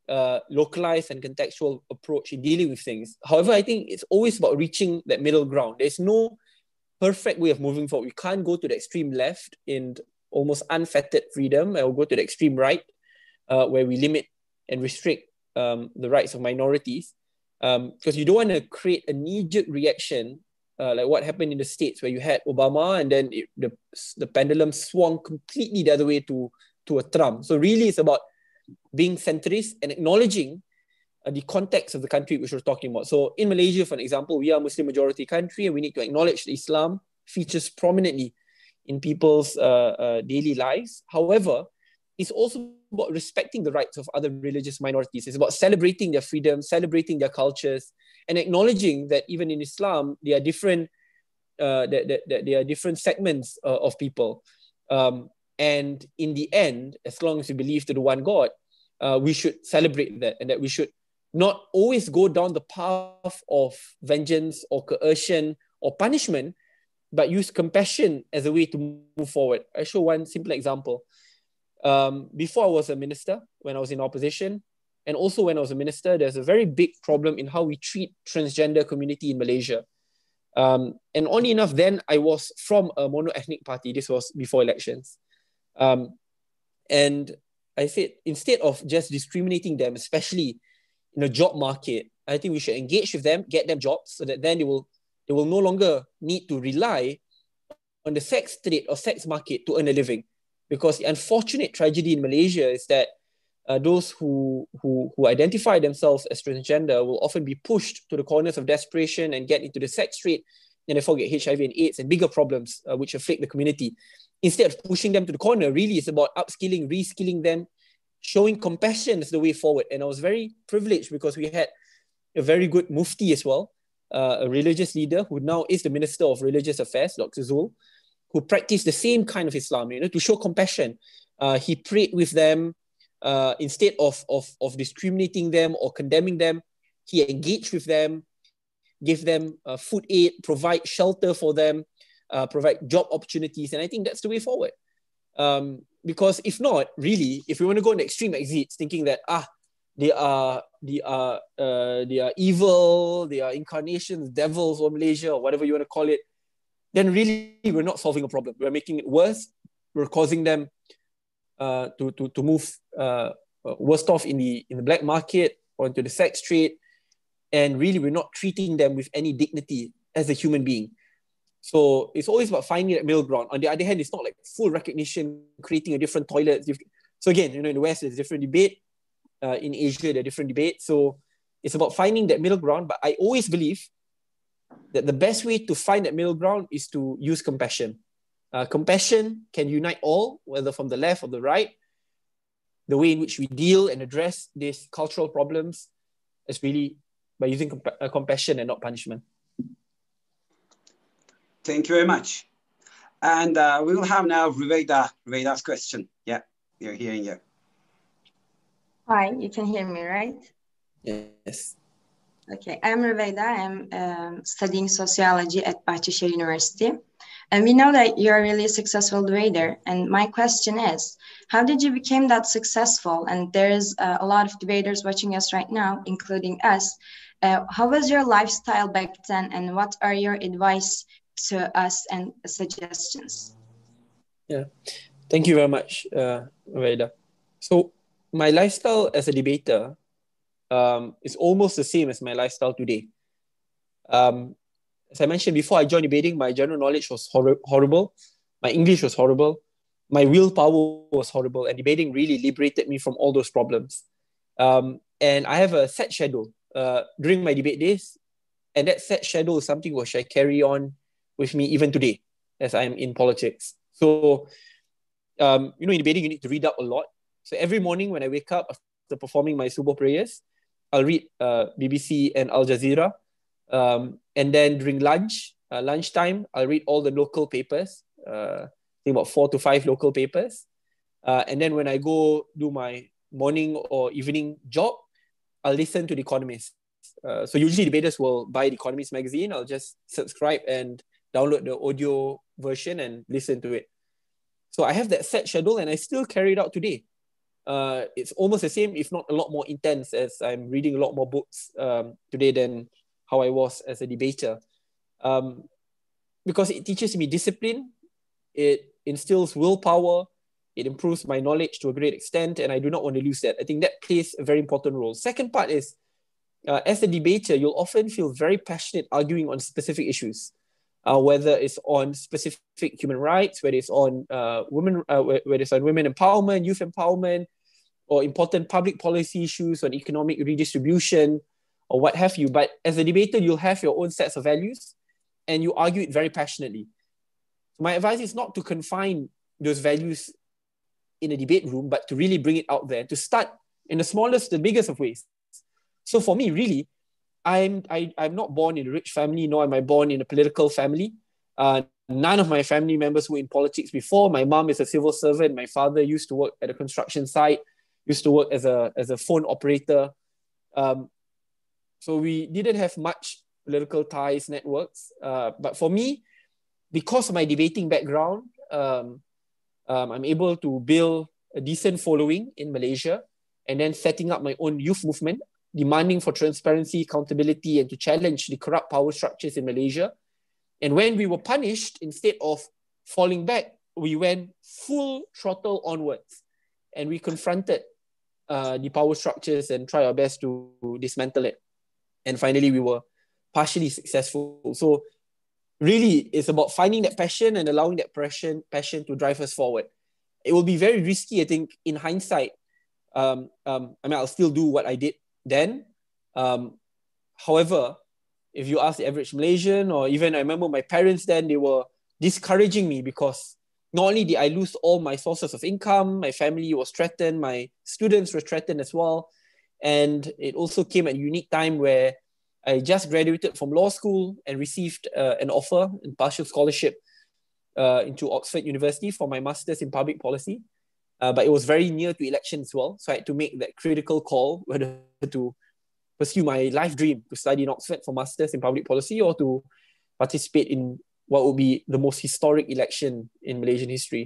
uh, localized and contextual approach in dealing with things. However, I think it's always about reaching that middle ground. There's no perfect way of moving forward. We can't go to the extreme left in almost unfettered freedom, or go to the extreme right, uh, where we limit and restrict um, the rights of minorities. Because um, you don't want to create a knee-jerk reaction, uh, like what happened in the States, where you had Obama and then it, the, the pendulum swung completely the other way to, to a Trump. So really it's about being centrist and acknowledging uh, the context of the country which we're talking about. So in Malaysia, for example, we are a Muslim majority country, and we need to acknowledge that Islam features prominently in people's uh, uh, daily lives. However, it's also about respecting the rights of other religious minorities. It's about celebrating their freedom, celebrating their cultures, and acknowledging that even in Islam, there are different, uh, that, that, that there are different segments uh, of people. Um, and in the end, as long as we believe to the one God, uh, we should celebrate that, and that we should not always go down the path of vengeance or coercion or punishment, but use compassion as a way to move forward. I show one simple example. Um, before I was a minister, when I was in opposition, and also when I was a minister, there's a very big problem in how we treat transgender community in Malaysia. Um, and only enough then, I was from a mono-ethnic party. This was before elections. Um, and I said, instead of just discriminating them, especially in the job market, I think we should engage with them, get them jobs, so that then they will, they will no longer need to rely on the sex trade or sex market to earn a living. Because the unfortunate tragedy in Malaysia is that uh, those who, who, who identify themselves as transgender will often be pushed to the corners of desperation and get into the sex trade, and therefore get H I V and AIDS and bigger problems uh, which afflict the community. Instead of pushing them to the corner, really it's about upskilling, reskilling them, showing compassion as the way forward. And I was very privileged because we had a very good mufti as well, uh, a religious leader who now is the Minister of Religious Affairs, Doctor Zul, who practiced the same kind of Islam, you know, to show compassion. Uh, he prayed with them uh, instead of, of, of discriminating them or condemning them. He engaged with them, gave them uh, food aid, provide shelter for them, uh, provide job opportunities. And I think that's the way forward. Um, because if not, really, if we want to go on the extreme exits, thinking that, ah, they are, they are, uh, they are evil, they are incarnations, devils of Malaysia, or whatever you want to call it, then really we're not solving a problem. We're making it worse. We're causing them uh, to, to, to move uh, worst off in the, in the black market or into the sex trade. And really we're not treating them with any dignity as a human being. So it's always about finding that middle ground. On the other hand, it's not like full recognition, creating a different toilet. So again, you know, in the West, there's a different debate. Uh, in Asia, there are different debates. So it's about finding that middle ground. But I always believe that the best way to find that middle ground is to use compassion. Uh, compassion can unite all, whether from the left or the right. The way in which we deal and address these cultural problems is really by using compa- uh, compassion and not punishment. Thank you very much. And uh, we will have now Ruwaida, Ruwaida's question. Yeah, you're hearing you. Hi, you can hear me, right? Yes. Okay, I'm Ruwaida. I'm um, studying sociology at Bahçeşehir University. And we know that you're a really successful debater. And my question is, how did you become that successful? And there's uh, a lot of debaters watching us right now, including us. Uh, how was your lifestyle back then? And what are your advice to us and suggestions? Yeah, thank you very much, uh, Ruwaida. So my lifestyle as a debater um, is almost the same as my lifestyle today. Um, as I mentioned before I joined debating, my general knowledge was hor- horrible. My English was horrible. My willpower was horrible. And debating really liberated me from all those problems. Um, and I have a set schedule uh, during my debate days. And that set schedule is something which I carry on with me even today as I'm in politics. So, um, you know, in debating, you need to read up a lot. So every morning when I wake up after performing my subuh prayers, I'll read uh, B B C and Al Jazeera. Um, and then during lunch, uh, lunchtime, I'll read all the local papers, uh, I think about four to five local papers. Uh, and then when I go do my morning or evening job, I'll listen to The Economist. Uh, so usually debaters will buy The Economist magazine. I'll just subscribe and download the audio version and listen to it. So I have that set schedule and I still carry it out today. uh, it's almost the same, if not a lot more intense, as I'm reading a lot more books um, today than how I was as a debater. Um, because it teaches me discipline, it instills willpower, it improves my knowledge to a great extent, and I do not want to lose that. I think that plays a very important role. Second part is, uh, as a debater, you'll often feel very passionate arguing on specific issues, uh, whether it's on specific human rights, whether it's on uh, women, uh, whether it's on women empowerment, youth empowerment, or important public policy issues on economic redistribution, or what have you. But as a debater, you'll have your own sets of values, and you argue it very passionately. My advice is not to confine those values in a debate room, but to really bring it out there, to start in the smallest, the biggest of ways. So for me, really, I'm, I, I'm not born in a rich family, nor am I born in a political family. Uh, none of my family members were in politics before. My mom is a civil servant. My father used to work at a construction site, used to work as a, as a phone operator. Um, so we didn't have much political ties, networks. Uh, but for me, because of my debating background, um, um, I'm able to build a decent following in Malaysia, and then setting up my own youth movement, demanding for transparency, accountability, and to challenge the corrupt power structures in Malaysia. And when we were punished, instead of falling back, we went full throttle onwards, and we confronted uh, the power structures and tried our best to dismantle it. And finally, we were partially successful. So really, it's about finding that passion and allowing that passion, passion to drive us forward. It will be very risky, I think, in hindsight. Um, um, I mean, I'll still do what I did then. Um, however, if you ask the average Malaysian, or even I remember my parents then, they were discouraging me because not only did I lose all my sources of income, my family was threatened, my students were threatened as well. And it also came at a unique time where I just graduated from law school and received uh, an offer and partial scholarship uh, into Oxford University for my master's in public policy. Uh, but it was very near to election as well. So I had to make that critical call whether to pursue my life dream to study in Oxford for master's in public policy, or to participate in what would be the most historic election in Malaysian history,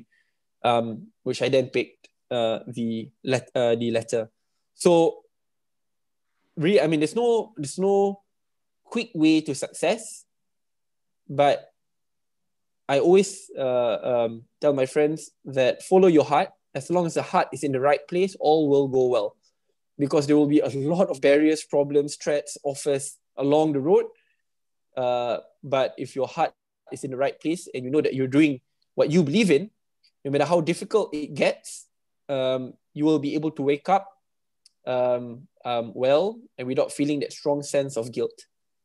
um, which I then picked uh, the, let, uh, the letter. So really, I mean, there's no, there's no quick way to success, but I always uh, um, tell my friends that follow your heart. As long as the heart is in the right place, all will go well, because there will be a lot of barriers, problems, threats, offers along the road. Uh, but if your heart is in the right place and you know that you're doing what you believe in, no matter how difficult it gets, um, you will be able to wake up um, um, well and without feeling that strong sense of guilt.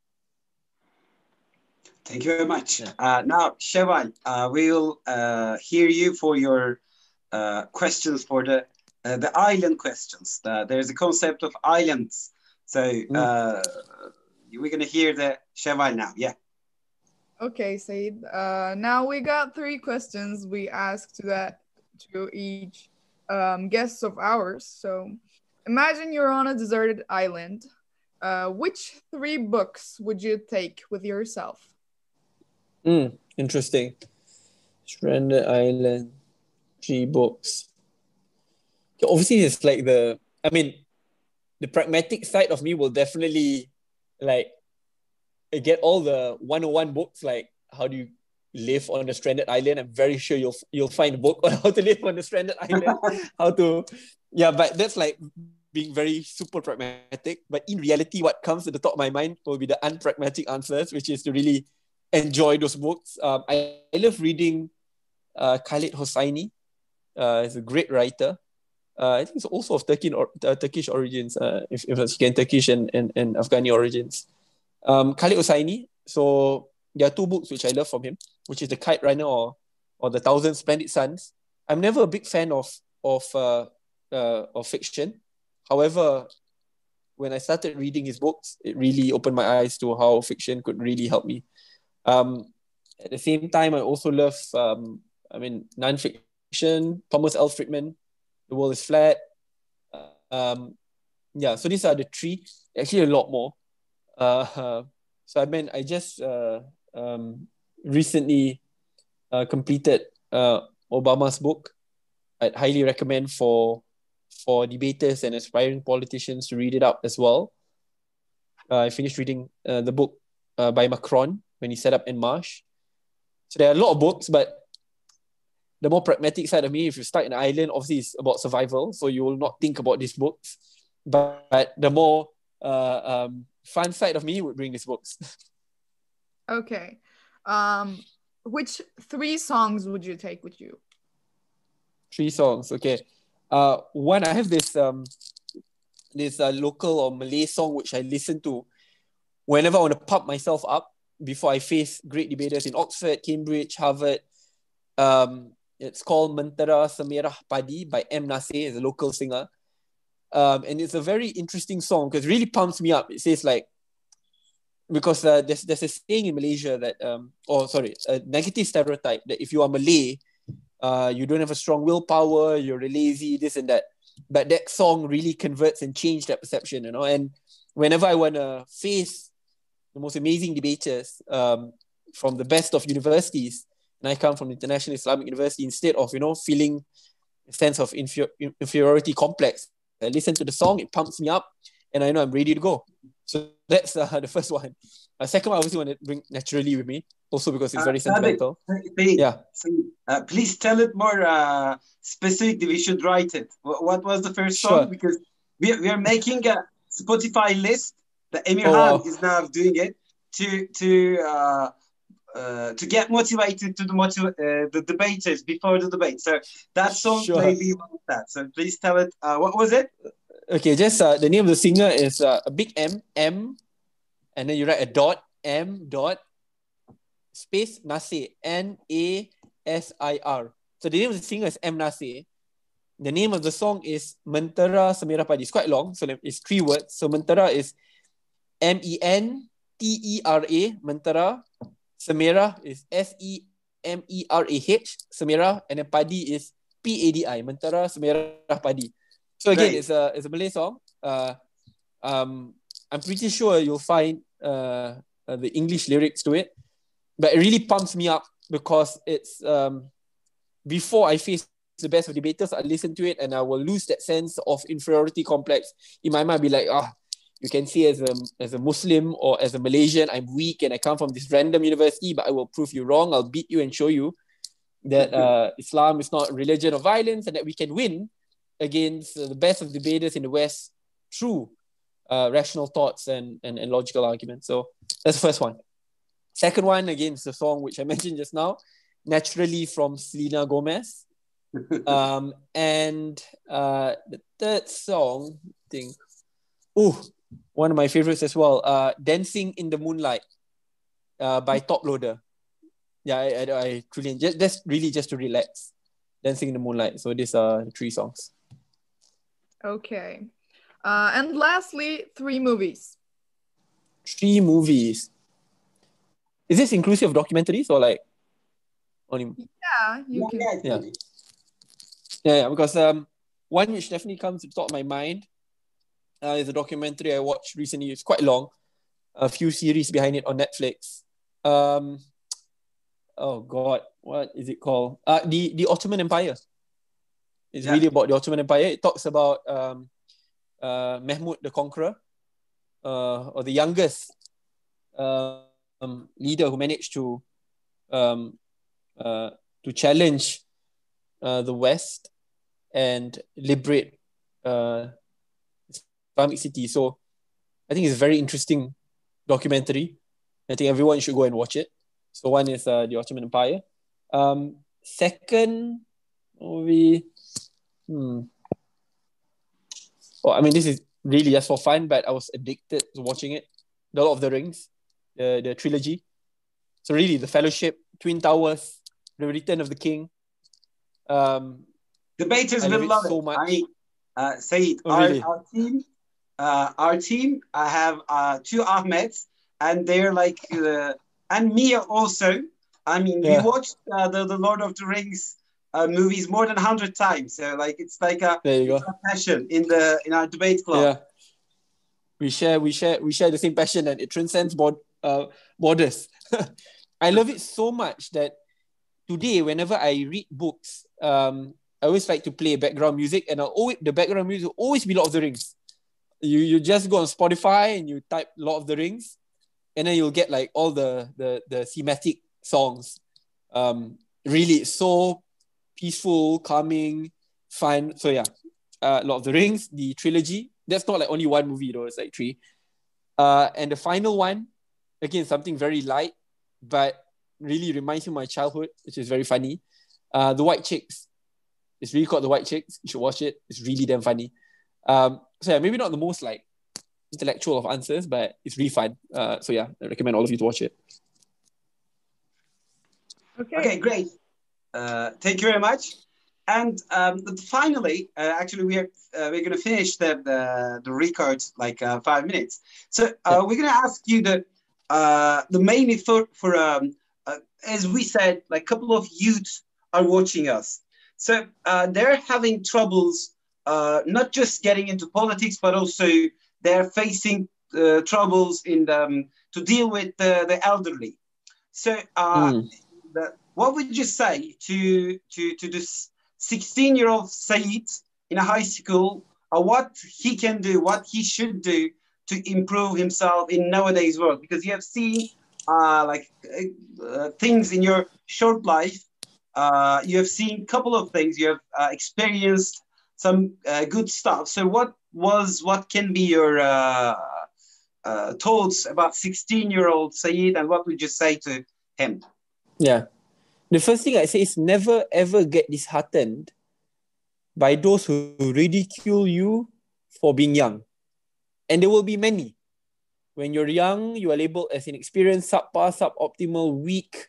Thank you very much. Uh, now, Shewal, uh, we'll uh, hear you for your uh, questions for the uh, the island questions. Uh, there's a concept of islands. So uh, we're going to hear the Shewal now. Yeah. Okay, Said. Uh, now we got three questions we asked to that to each um, guest of ours. So imagine you're on a deserted island. Uh, which three books would you take with yourself? Mm, interesting. Stranded Island, three books. Okay, obviously, it's like the, I mean, the pragmatic side of me will definitely like get all the one oh one books, like how do you live on a stranded island. I'm very sure you'll you'll find a book on how to live on a stranded island, how to, yeah, but that's like being very super pragmatic. But in reality, what comes to the top of my mind will be the unpragmatic answers, which is to really enjoy those books. Um, I, I love reading uh, Khaled Hosseini. Uh, he's a great writer. Uh, I think he's also of Turkish, or, uh, Turkish origins, uh, if, if it's again Turkish and, and, and Afghani origins. Um, Khaled Hosseini. So there are two books which I love from him, which is The Kite Runner or or The Thousand Splendid Suns. I'm never a big fan of of uh, uh, of fiction. However, when I started reading his books, it really opened my eyes to how fiction could really help me. Um, at the same time, I also love, um, I mean, non-fiction, Thomas L. Friedman, The World is Flat. Um, yeah, so these are the three. Actually, a lot more. Uh, so I mean, I just uh, um, recently uh, completed uh, Obama's book. I'd highly recommend for for debaters and aspiring politicians to read it up as well. Uh, I finished reading uh, the book uh, by Macron when he set up En Marche. So there are a lot of books, but the more pragmatic side of me, if you're stuck in an island, obviously it's about survival, so you will not think about these books. But, but the more uh, um, fun side of me would bring these books. Okay. Um, which three songs would you take with you? Three songs, okay. Uh, one, I have this um, this uh, local or Malay song which I listen to whenever I want to pump myself up before I face great debaters in Oxford, Cambridge, Harvard. Um, it's called Mentera Semerah Padi by M. Nasir, is a local singer. Um, and it's a very interesting song because it really pumps me up. It says like, because uh, there's, there's a saying in Malaysia that, um, oh sorry, a negative stereotype that if you are Malay, uh, you don't have a strong willpower, you're lazy, this and that. But that song really converts and changed that perception, you know. And whenever I want to face the most amazing debaters um, from the best of universities, and I come from the International Islamic University, instead of, you know, feeling a sense of inferior, inferiority complex, I listen to the song, it pumps me up, and I know I'm ready to go. So that's uh, the first one. Uh, second one, I obviously want to bring Naturally with me, also because it's very uh, sentimental. Please, yeah. Uh, please tell it more uh, specifically. We should write it. What, what was the first song? Sure. Because we, we are making a Spotify list. The Emir oh, Han wow. is now doing it to to uh, uh, to get motivated to the motiv- uh, the debaters before the debate. So that song sure. may be one of that. So please tell it. Uh, what was it? Okay, just uh, the name of the singer is uh, a big M, M, and then you write a dot, M dot, space Nasir, N A S I R. So the name of the singer is M. Nasir. The name of the song is Mentera Semerah Padi. It's quite long, so it's three words. So Mentera is M E N T E R A, Mentera. Semerah is S E M E R A H, Semerah, and then Padi is P A D I, Mentera Semerah Padi. So again, right. it's a it's a Malay song. Uh, um, I'm pretty sure you'll find uh, uh, the English lyrics to it, but it really pumps me up because it's um, before I face the best of debaters, I listen to it and I will lose that sense of inferiority complex. In my mind, I'll be like, ah, oh, you can see as a as a Muslim or as a Malaysian, I'm weak and I come from this random university, but I will prove you wrong. I'll beat you and show you that uh, Islam is not a religion of violence and that we can win against uh, the best of debaters in the West through uh, rational thoughts and, and, and logical arguments. So that's the first one. Second one, again, is the song which I mentioned just now, Naturally from Selena Gomez. um, and uh, the third song, I think, oh, one of my favorites as well, uh, Dancing in the Moonlight uh, by Top Loader. Yeah, I, I, I truly, just, that's really just to relax. Dancing in the Moonlight. So these are the three songs. Okay. Uh, and lastly, three movies. Three movies. Is this inclusive of documentaries or like only? Yeah, you can. Yeah, yeah, yeah. Because um, one which definitely comes to the top of my mind uh, is a documentary I watched recently. It's quite long. A few series behind it on Netflix. Um, oh God, what is it called? Uh, the the Ottoman Empire. It's yeah. really about the Ottoman Empire. It talks about um, uh, Mehmed the Conqueror, uh, or the youngest uh, um, leader who managed to um, uh, to challenge uh, the West and liberate uh, Islamic city. So I think it's a very interesting documentary. I think everyone should go and watch it. So one is uh, the Ottoman Empire. Um, second movie. Hmm. Oh, I mean, this is really just for fun, but I was addicted to watching it. The Lord of the Rings, the, the trilogy. So really, The Fellowship, Twin Towers, The Return of the King. Um, Debaters will love it. So much. I, uh, Saeed, oh, our, really? our team, uh, our team, I have uh, two Ahmeds, and they're like, uh, and Mia also. I mean, yeah. we watched uh, the, the Lord of the Rings Uh, movies more than a hundred times, so like it's like a, there you go. a passion in the in our debate club. Yeah, we share, we share, we share the same passion, and it transcends board, uh, borders. I love it so much that today, whenever I read books, um, I always like to play background music, and I'll always, the background music will always be Lord of the Rings. You you just go on Spotify and you type Lord of the Rings, and then you'll get like all the the the thematic songs. Um, really, it's so peaceful, calming, fun. So yeah, uh, Lord of the Rings, the trilogy. That's not like only one movie though. It's like three. Uh, and the final one, again, something very light, but really reminds me of my childhood, which is very funny. Uh, The White Chicks. It's really called The White Chicks. You should watch it. It's really damn funny. Um, so yeah, maybe not the most like intellectual of answers, but it's really fun. Uh, so yeah, I recommend all of you to watch it. Okay. Okay, great. Uh, thank you very much. And um, finally, uh, actually, we are uh, we're going to finish the the, the record like uh, five minutes. So uh, Yeah. we're going to ask you the uh, the main effort for um, uh, as we said, like a couple of youth are watching us. So uh, they're having troubles, uh, not just getting into politics, but also they're facing uh, troubles in the, um, to deal with the, the elderly. So uh, Mm. the, what would you say to to to this sixteen-year-old Saeed in a high school, or what he can do, what he should do to improve himself in nowadays world? Because you have seen uh, like uh, things in your short life. Uh, you have seen a couple of things. You have uh, experienced some uh, good stuff. So what was what can be your uh, uh, thoughts about sixteen-year-old Saeed, and what would you say to him? Yeah. The first thing I say is never ever get disheartened by those who ridicule you for being young. And there will be many. When you're young, you are labeled as inexperienced, subpar, suboptimal, weak.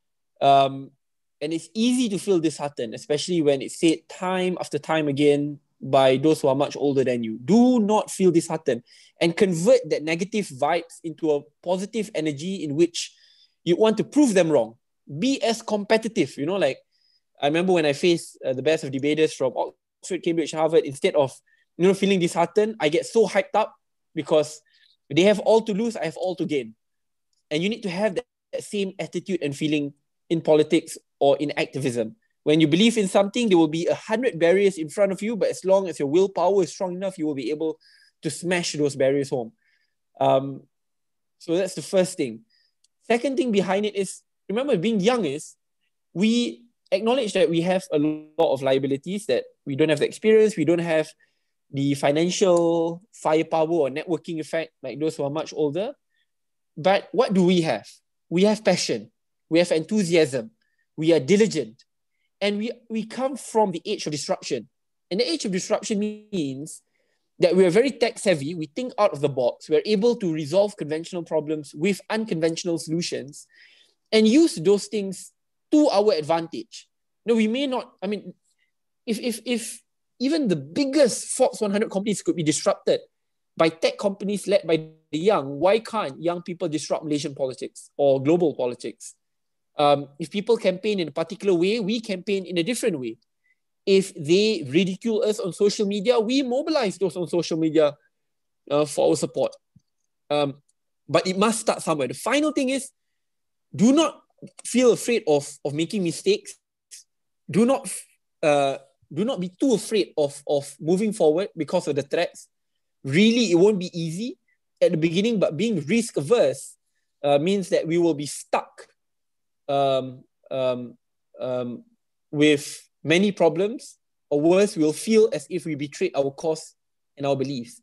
Um, and it's easy to feel disheartened, especially when it's said time after time again by those who are much older than you. Do not feel disheartened and convert that negative vibes into a positive energy in which you want to prove them wrong. Be as competitive, you know, like I remember when I faced uh, the best of debaters from Oxford, Cambridge, Harvard, instead of, you know, feeling disheartened, I get so hyped up because they have all to lose, I have all to gain. And you need to have that, that same attitude and feeling in politics or in activism. When you believe in something, there will be a hundred barriers in front of you, but as long as your willpower is strong enough, you will be able to smash those barriers home. Um, so that's the first thing. Second thing behind it is, remember, being young is, we acknowledge that we have a lot of liabilities, that we don't have the experience, we don't have the financial firepower or networking effect like those who are much older. But what do we have? We have passion, we have enthusiasm, we are diligent, and we, we come from the age of disruption. And the age of disruption means that we are very tech savvy, we think out of the box, we're able to resolve conventional problems with unconventional solutions and use those things to our advantage. No, we may not, I mean, if if if even the biggest Forbes one hundred companies could be disrupted by tech companies led by the young, why can't young people disrupt Malaysian politics or global politics? Um, if people campaign in a particular way, we campaign in a different way. If they ridicule us on social media, we mobilize those on social media uh, for our support. Um, but it must start somewhere. The final thing is, do not feel afraid of, of making mistakes. Do not uh, do not be too afraid of, of moving forward because of the threats. Really, it won't be easy at the beginning, but being risk averse uh, means that we will be stuck um, um, um, with many problems, or worse, we'll feel as if we betrayed our cause and our beliefs.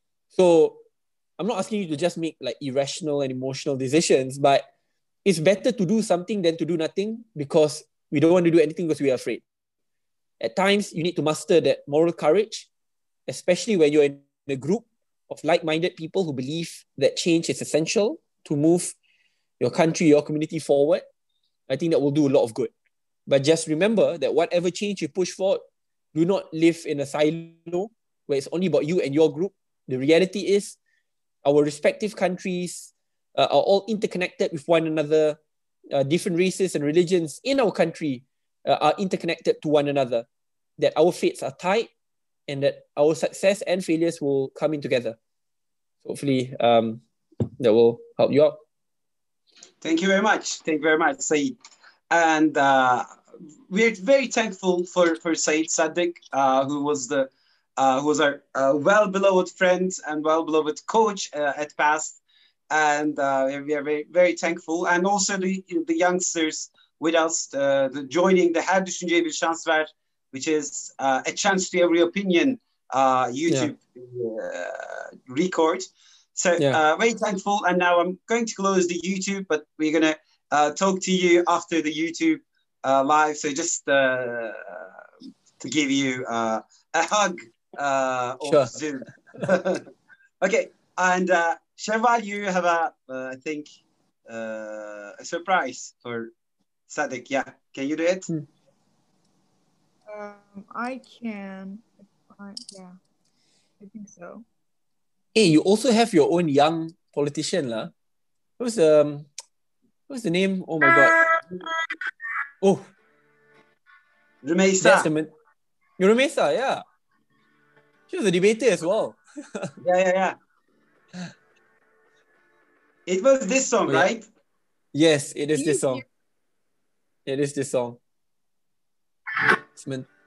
So I'm not asking you to just make like irrational and emotional decisions, but it's better to do something than to do nothing, because we don't want to do anything because we are afraid. At times, you need to muster that moral courage, especially when you're in a group of like-minded people who believe that change is essential to move your country, your community forward. I think that will do a lot of good. But just remember that whatever change you push for, do not live in a silo where it's only about you and your group. The reality is our respective countries uh, are all interconnected with one another. Uh, different races and religions in our country uh, are interconnected to one another. That our fates are tied, and that our success and failures will come in together. Hopefully um, that will help you out. Thank you very much. Thank you very much, Saeed. And uh, we're very thankful for for Said Saddiq, uh, who was the uh, who was our uh, well beloved friend and well beloved coach uh, at past, and uh, we are very very thankful. And also the the youngsters with us, uh, the joining the Her Düşünceye Bir Şans Ver, which is uh, a chance to every opinion uh, YouTube yeah. uh, record. So yeah. uh, very thankful. And now I'm going to close the YouTube, but we're gonna uh, talk to you after the YouTube uh, live. So just uh, to give you uh, a hug uh, sure. of Zoom. Okay, and uh, Sheval, you have a uh, I think uh, a surprise for Saddiq. Yeah, can you do it? Um, I can. I, yeah, I think so. Hey, you also have your own young politician, lah. Who's um, what's the name? Oh my god. Oh, Rumeisa. Rumeisa, yeah. She was a debater as well. yeah, yeah, yeah. It was this song, oh, yeah. right? Yes, it is this song. It is this song.